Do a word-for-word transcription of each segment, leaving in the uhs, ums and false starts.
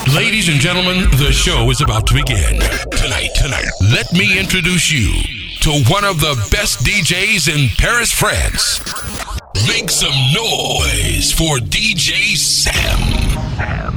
Ladies and gentlemen, the show is about to begin. Tonight, tonight, let me introduce you to one of the best D Js in Paris, France. Make some noise for D J Sam.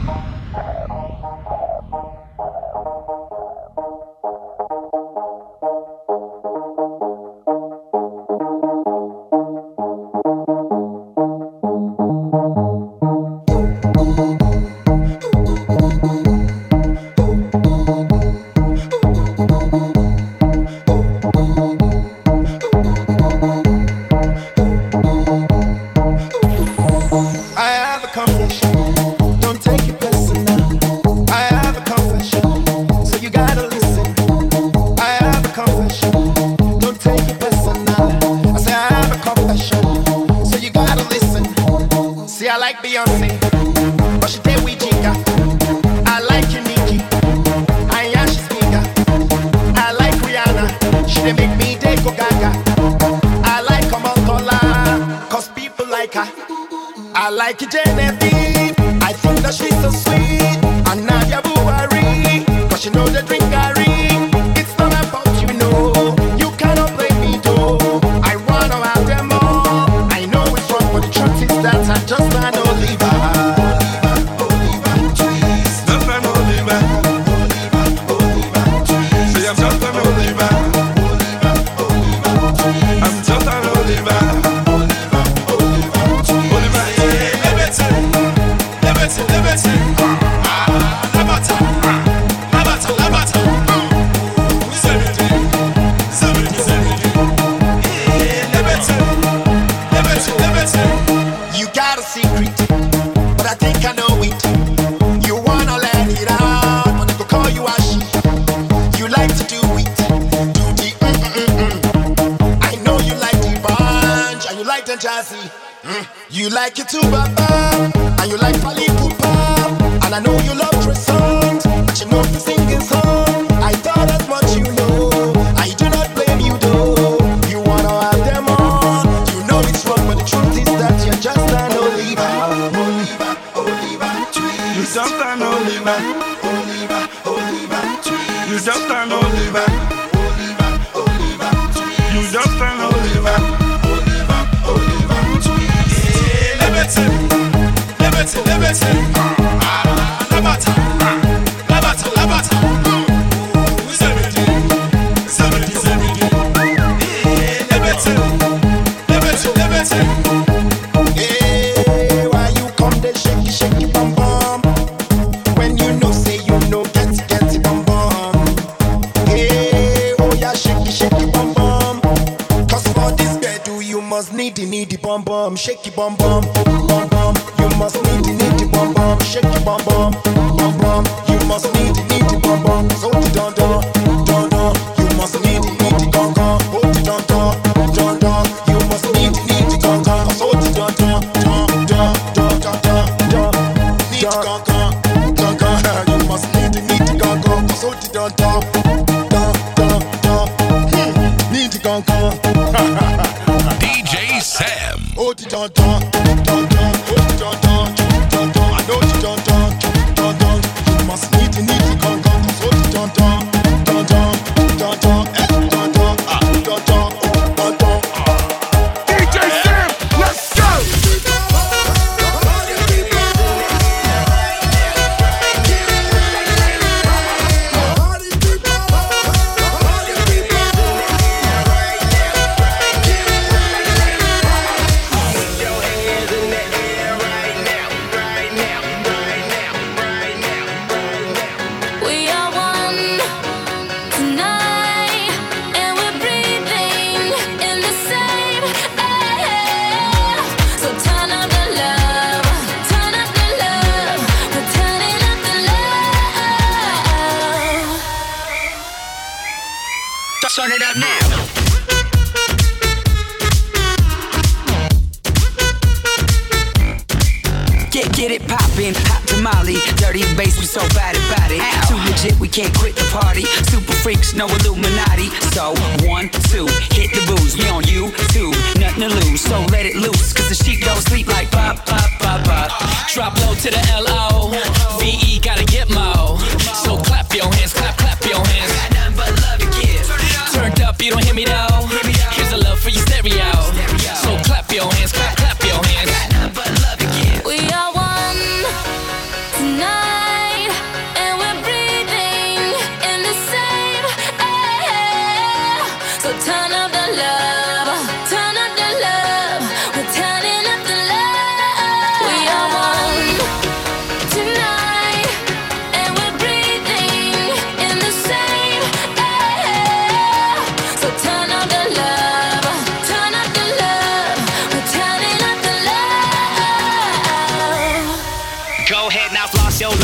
Shake your bum bum, bum bum. You must need the need the bum bum. Shake your bum bum, bum bum. You must need the need the bum bum. So the don don, don don. You must need the need the gong gong. Oh the don don, don don. You must need the need the gong gong. So the don don, don don, don don don. Need the gong gong, gong gong. You must need the need the gong gong. So the don don, don don don. Need the gong gong. D J Sam. Oh, the don don, don don, oh the don don, don don. I know the don don, don don. You must need the need the gong gong. Oh the don don, don don, don don, eh don don, ah don don, oh don don. D J Sam, let's go. Turn it up now. Get, get it poppin', hot tamale. Dirty bass, we so bad about it. Too legit, we can't quit the party. Super freaks, no Illuminati. So, one, two, hit the booze. We on YouTube, nothing to lose. So let it loose, cause the sheep don't sleep like pop, pop, pop, pop. Drop low to the L O V E, gotta get my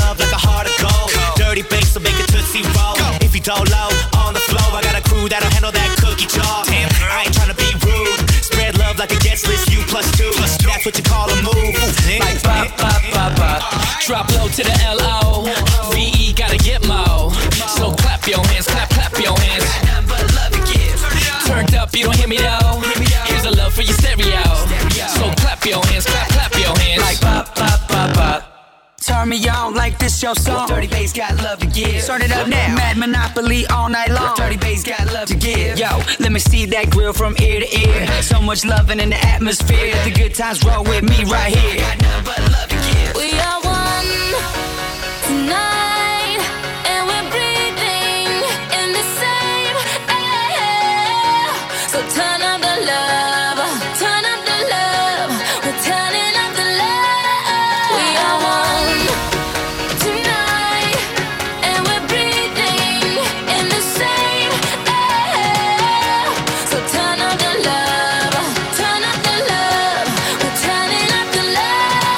love like a heart of gold. Dirty bass, so make it tootsie roll. If you don't low, on the floor, I got a crew that'll handle that cookie jar. Damn, I ain't tryna be rude. Spread love like a guest list, you plus two. That's what you call a move. Like pop, pop, pop, pop. Drop low to the L O. V E gotta get mo. So clap your hands, clap, clap your hands. Turned up, you don't hear me though. Here's a love for your stereo. So clap your hands, clap, clap your hands. Like pop, pop, pop, pop. Turn me on like this your song. Dirty bass got love to give. Start it up now. Mad Monopoly all night long. Dirty bass got love to give. Yo, let me see that grill from ear to ear. So much loving in the atmosphere. The good times roll with me right here. Got nothing but love to give. We are one tonight, and we're breathing in the same air. So turn up the love, turn up the love. We're turning up the love. We are one tonight, and we're breathing in the same air. So turn up the love, turn up the love. We're turning up the love.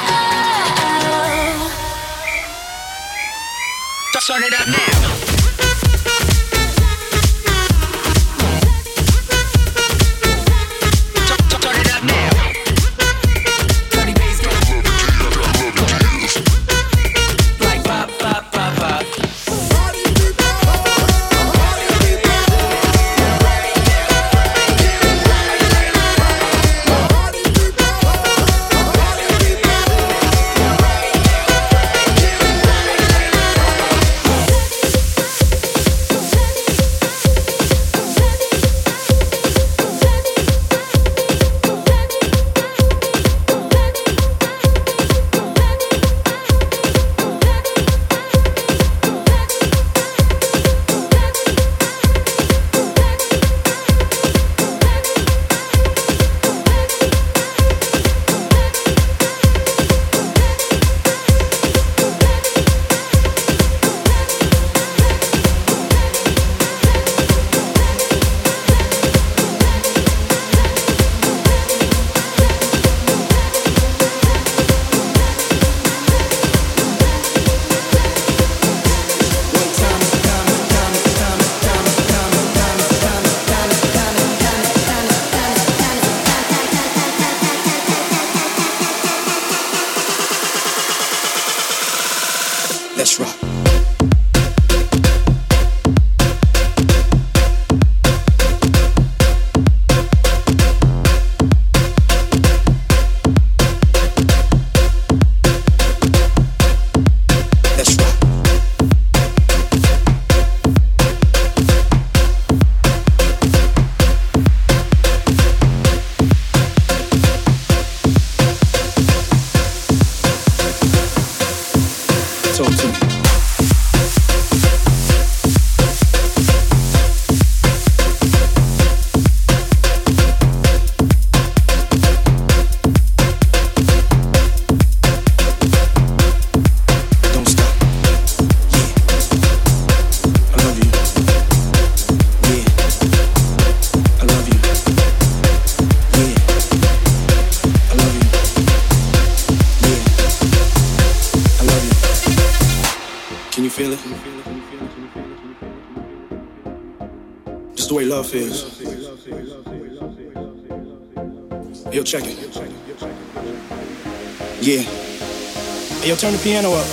Turn it up now. Turn it up now. Dirty bass got like pop, pop, pop, pop. Let's rock. Let's rock. Talk to me. Don't stop. Yeah. I love you. Yeah. I love you. Yeah. I love you. Yeah. I love you. Can you feel it? Just the way love feels. Yo, check it. Yeah. Hey, yo, turn the piano up.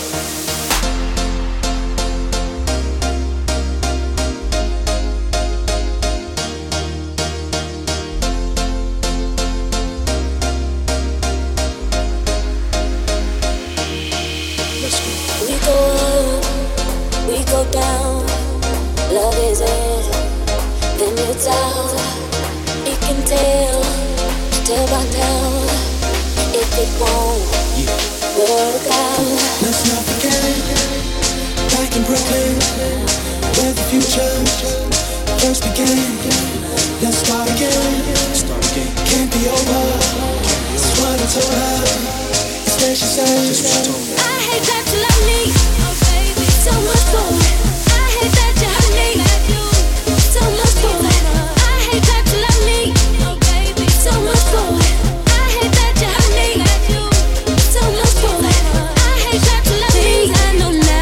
Let's go. We go up, we go down. Love is in, then it's out. You can tell, tell by now. If it won't work out. Let's not forget, back in Brooklyn, where the future first began. Let's start again. Start again. Can't be over. That's what I told her. It's what she said. Just what she told me. I hate that you love me, oh baby, so much more. I hate that you hurt me, so much more. I hate that you love me, oh baby, so much more. I hate that you hurt me, so much more. I hate that you love me. I know now.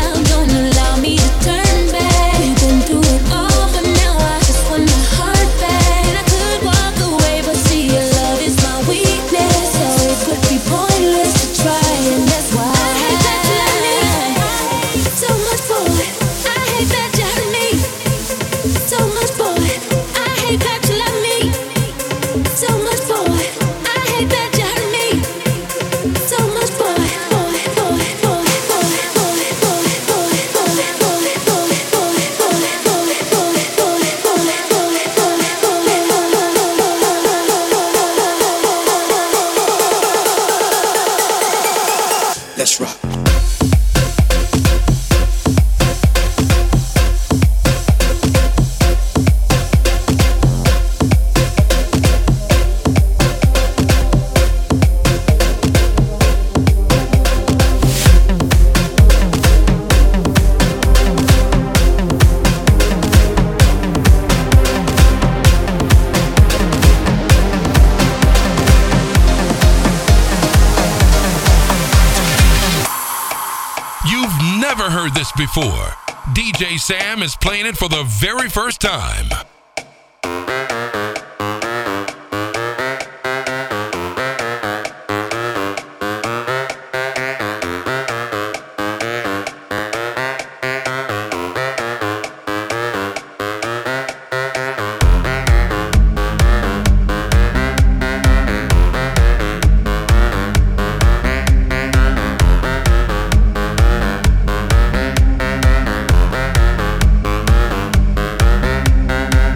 heard this before. D J Sam is playing it for the very first time. We'll be right back.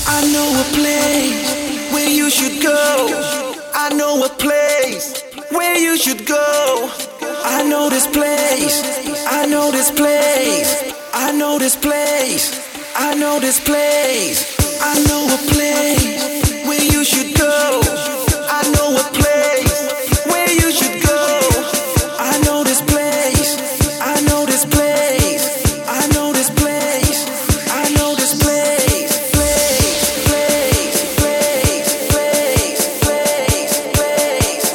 I know a place where you should go. I know a place where you should go. I know this place. I know this place. I know this place. I know this place. I know a place where you should go. I know a place where you should go. I know this place. I know this place. I know this place. I know this place. Place, place, place, place, place, place,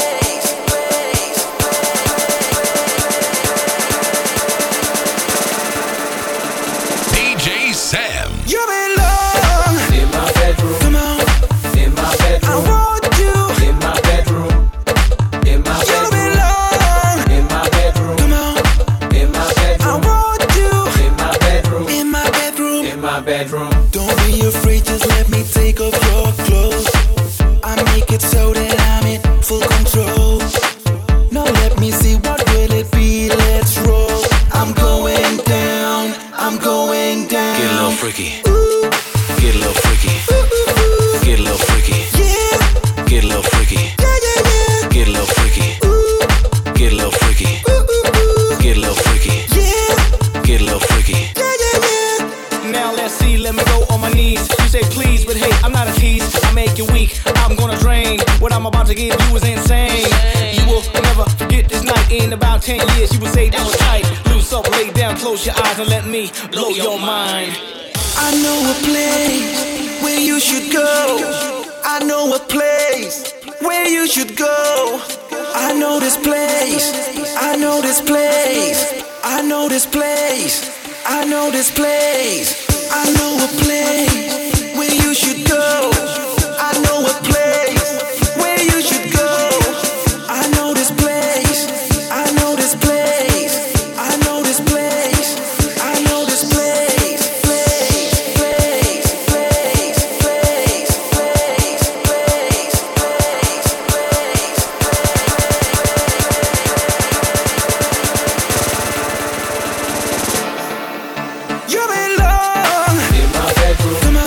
place. D J Sam. You belong in my bedroom. Come on. In my bedroom. I want you in my bedroom. In my You bedroom. belong In my bedroom. Come on. In my I bedroom. want you In my bedroom. in my bedroom. In my bedroom. Don't be afraid, just let me take off your clothes. I make it so that I'm in full control. Now let me see, what will it be? Let's roll. I'm going down. I'm going down. Get a little freaky. Ooh, Get a little freaky. ooh, ooh, ooh. Get a little freaky. Yeah, Get a little freaky. yeah, yeah, yeah. Get a little freaky. Ooh, Get a little freaky. ooh, ooh, ooh. Get a little freaky. Yeah, Get a little freaky. yeah, yeah, yeah. Now let's see, let me go on my knees. You say please, but hey, I'm not a tease. I make you weak, I'm gonna drain. What I'm about to give you is insane. You will never forget this night. In about ten years, you will say that was tight. Loose up, lay down, close your eyes and let me blow your mind. I know a place where you should go. I know a place where you should go. I know this place. I know this place. I know this place. I know this place. I know a place where you should go. I know a place where you should go. I know this place. I know this place. I know this place. I know this place. Place, place, place, place, place, place, place. You belong In my bedroom. Come on.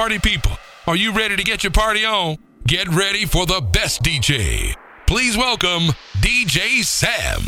party people, are you ready to get your party on? Get ready for the best D J. Please welcome D J Sam.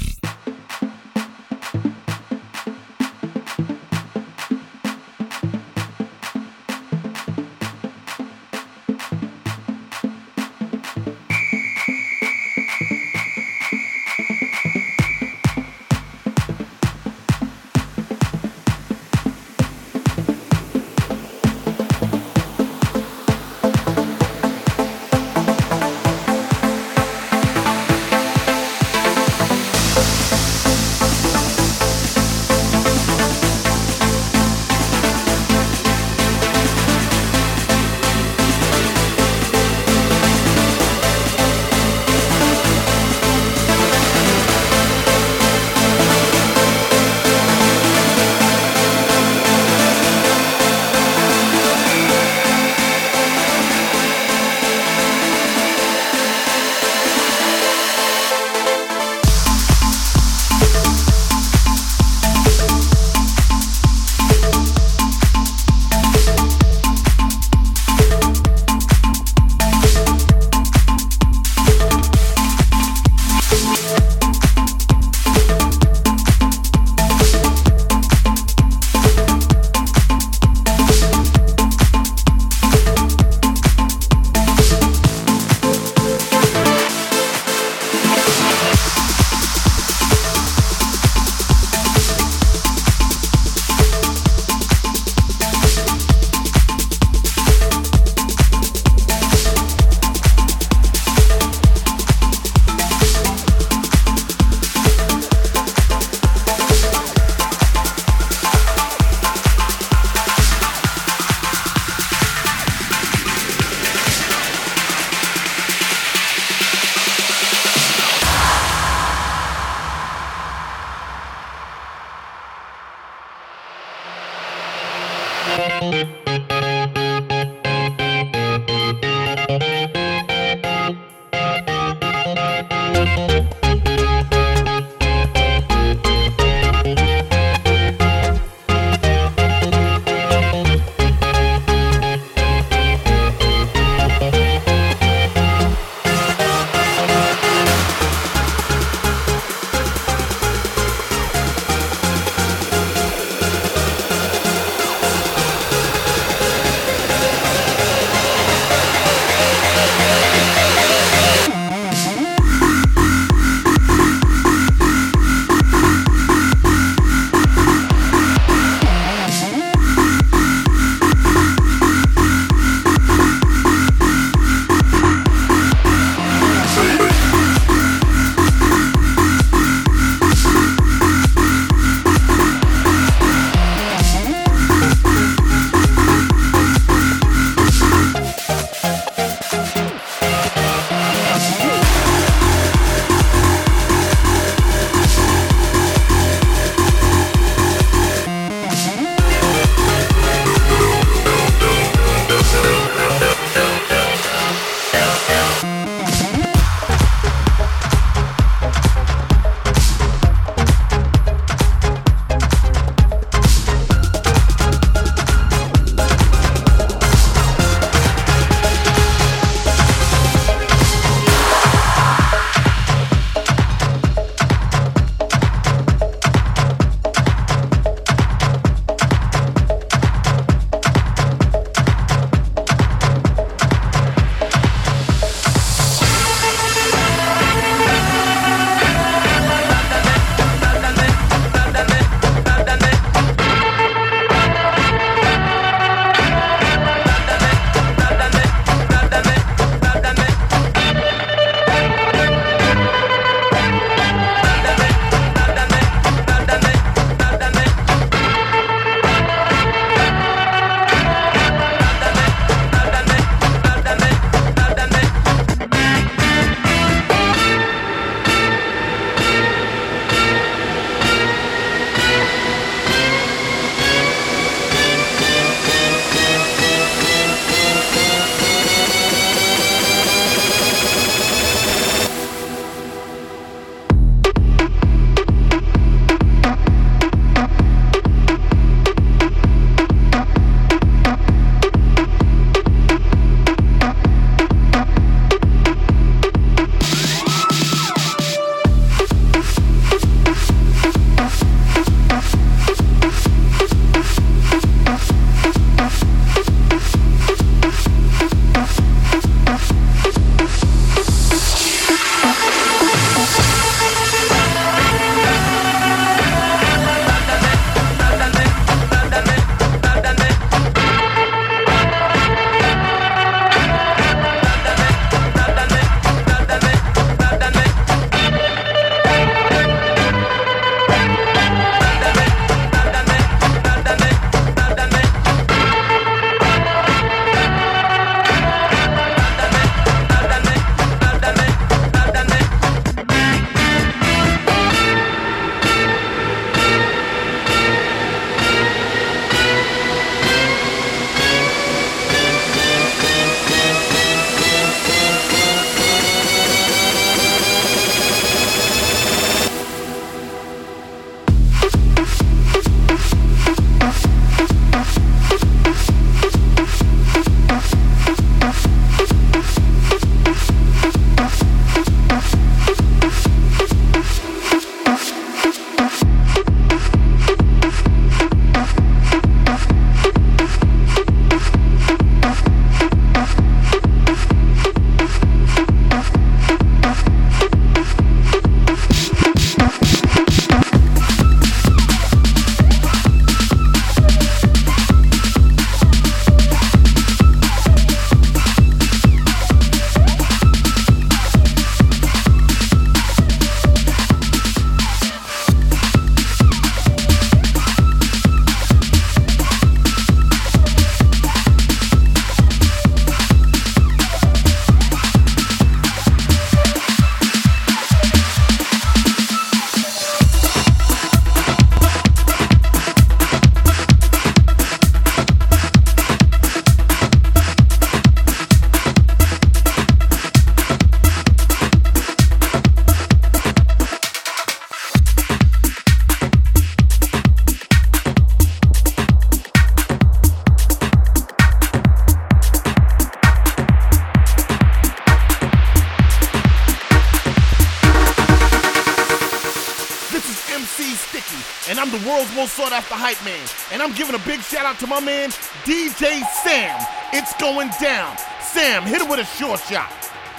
and I'm the world's most sought after hype man. And I'm giving a big shout out to my man, D J Sam. It's going down. Sam, hit him with a short shot.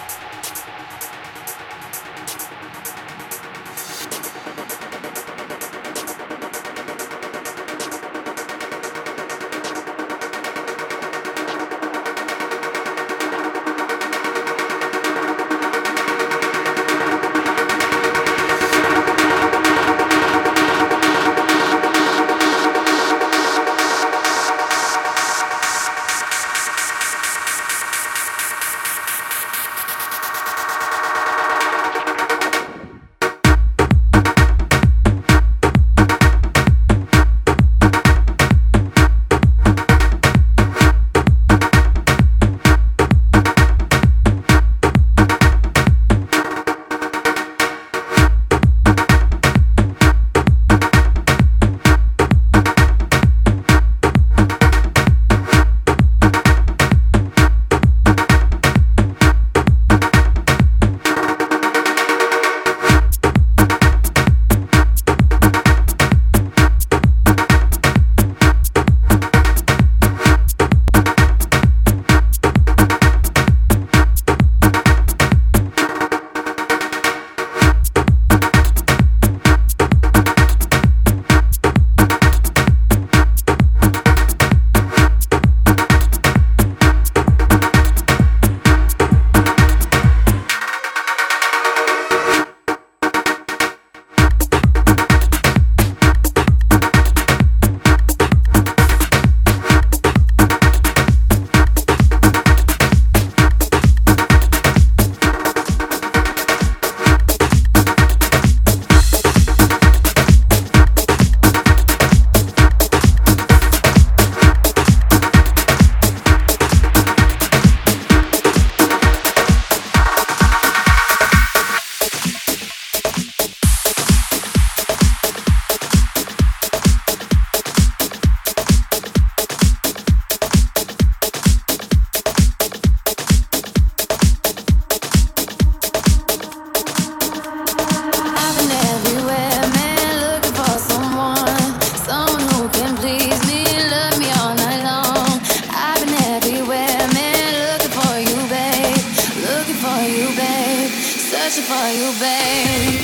searching for you, babe.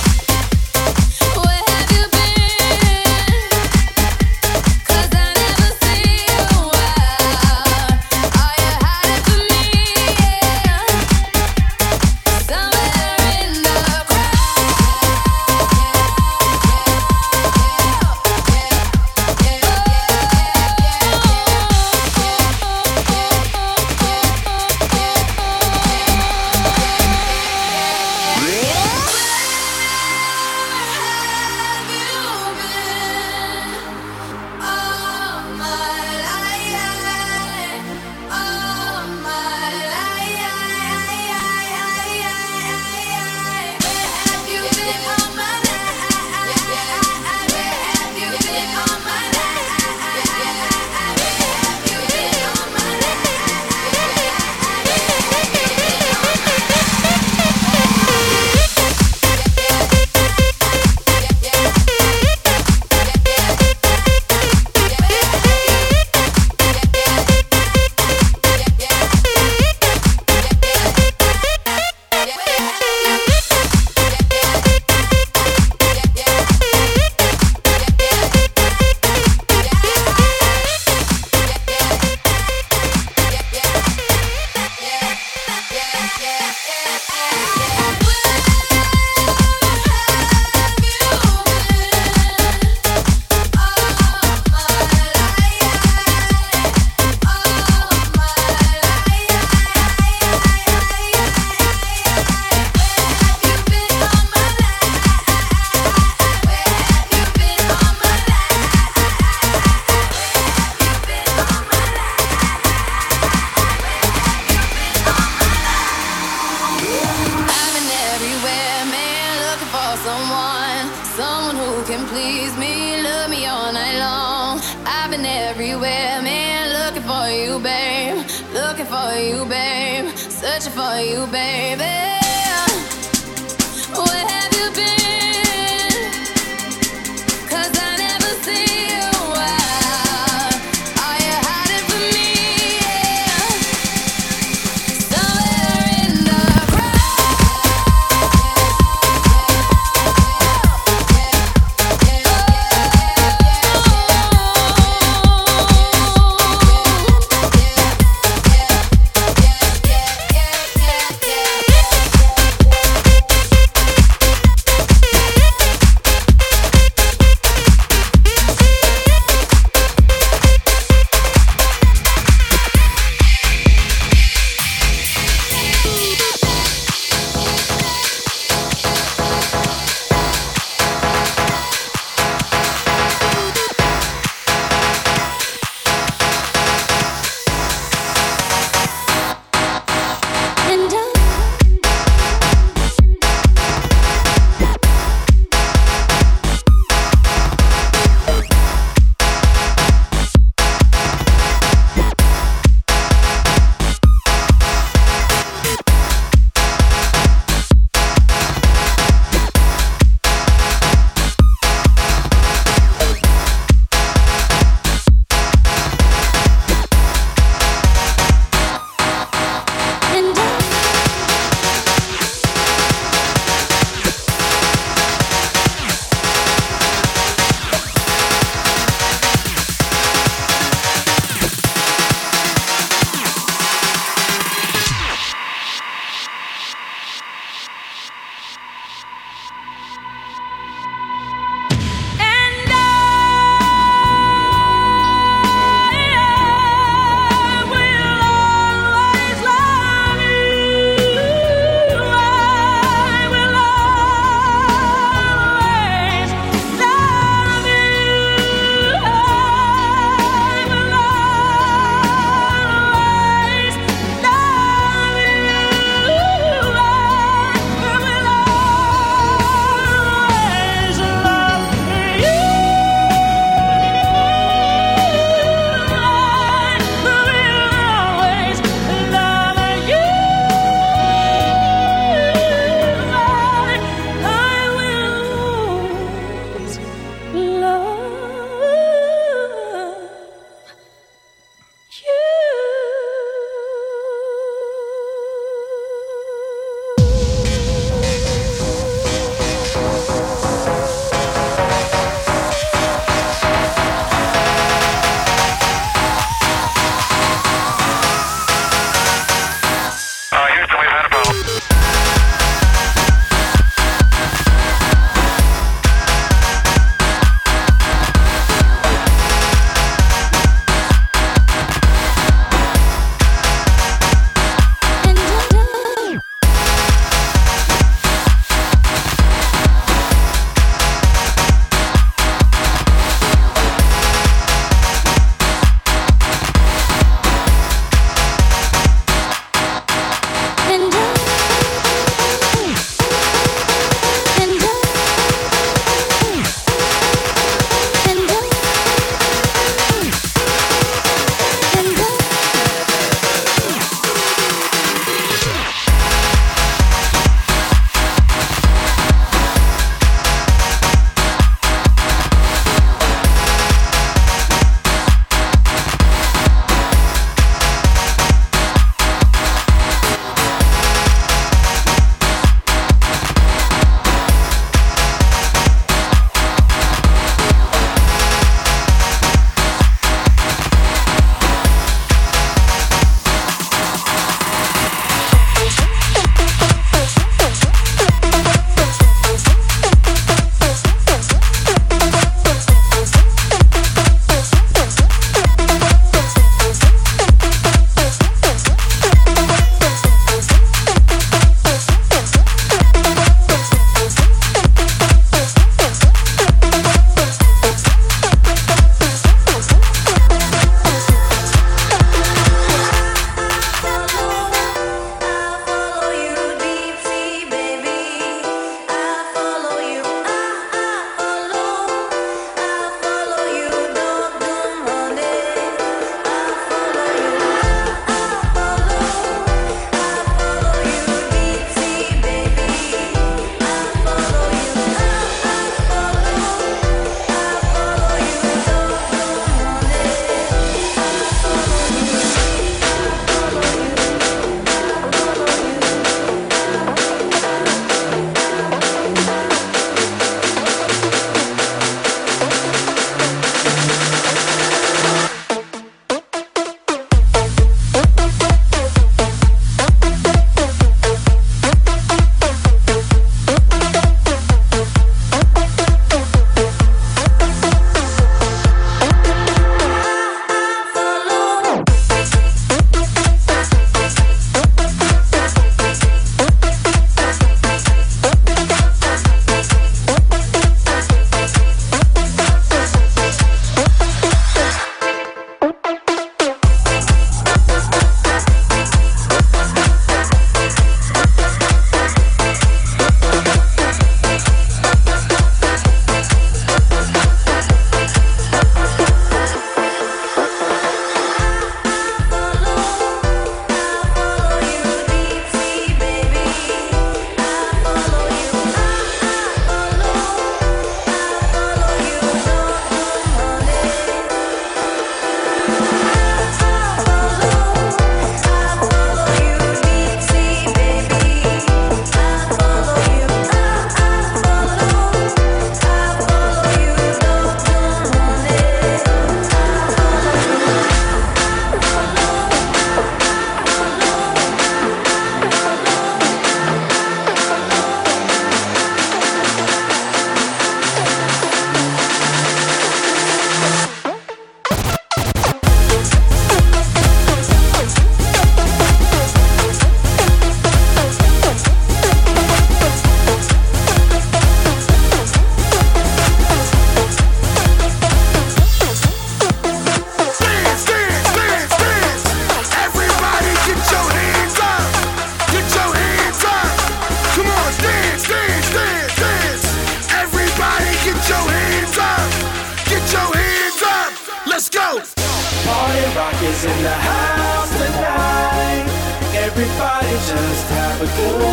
Searching for you, baby. Where have you been? 'Cause I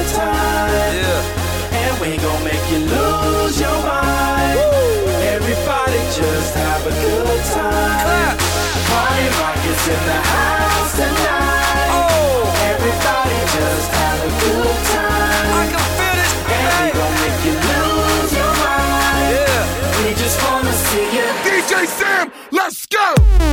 time. Yeah. And we gon' make you lose your mind. Woo. Everybody just have a good time. Clap. Party rock is in the house tonight. Oh. Everybody just have a good time. I can feel this. And we gon' make you lose your mind. Yeah. We just wanna see you. D J Sam, let's go.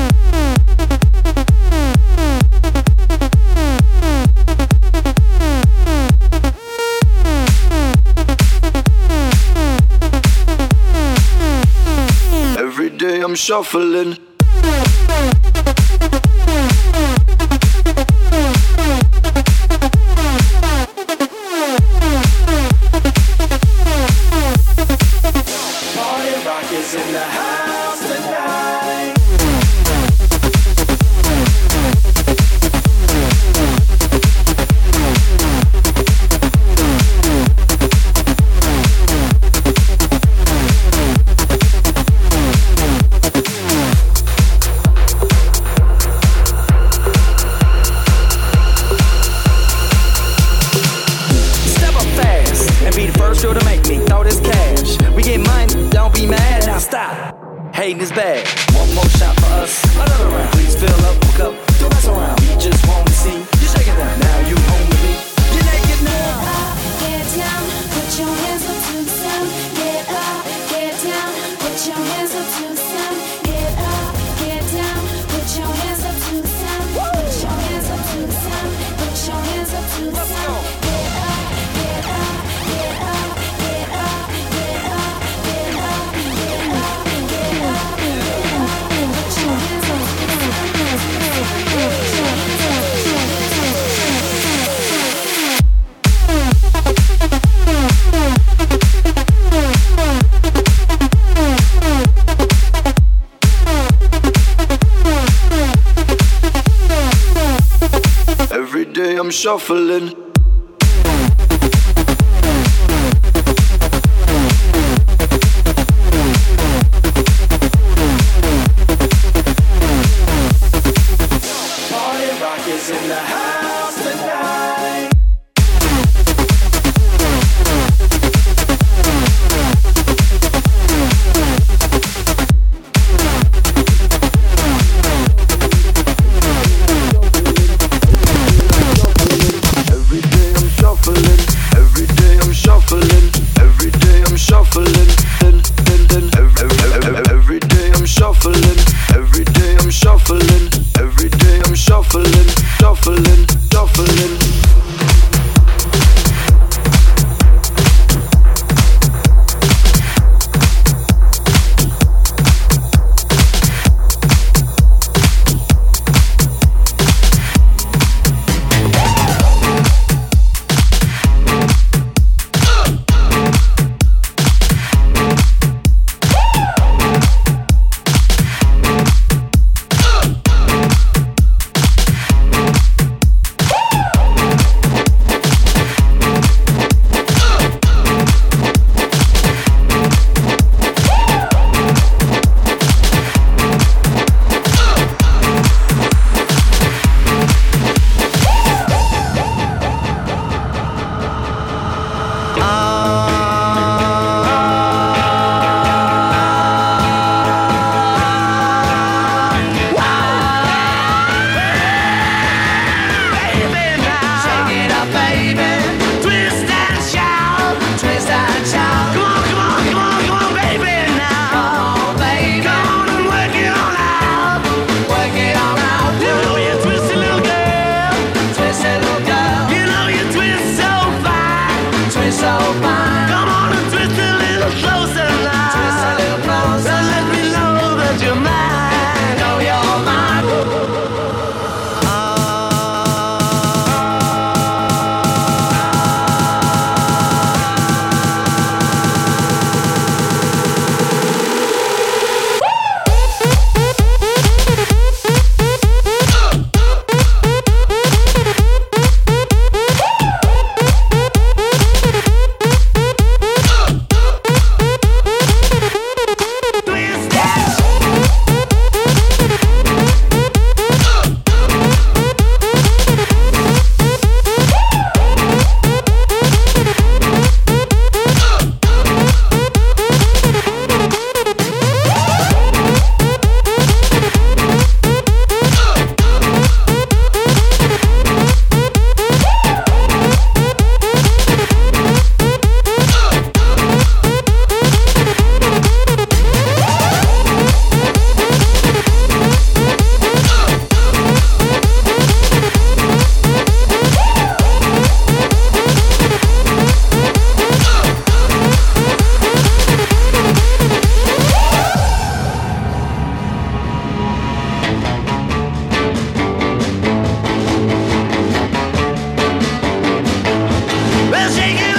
Every day I'm shuffling. Party rock is in the house tonight. Hating is bad. One more shot for us. Another round. Please fill up, hook up. Don't mess around. We just want to see you shake it down. Now you home with me. You're naked now. Get up, get down. Put your hands up to the sound. Get up, get down. Put your hands up to the sound. Get up, get down. Put your hands up to the sound. Put your hands up to the sound. Put your hands up to the sound. Get up, get up, get up, get up, get up, get up, get up. Every day I'm shuffling. Party rock is in the house tonight. Every shake it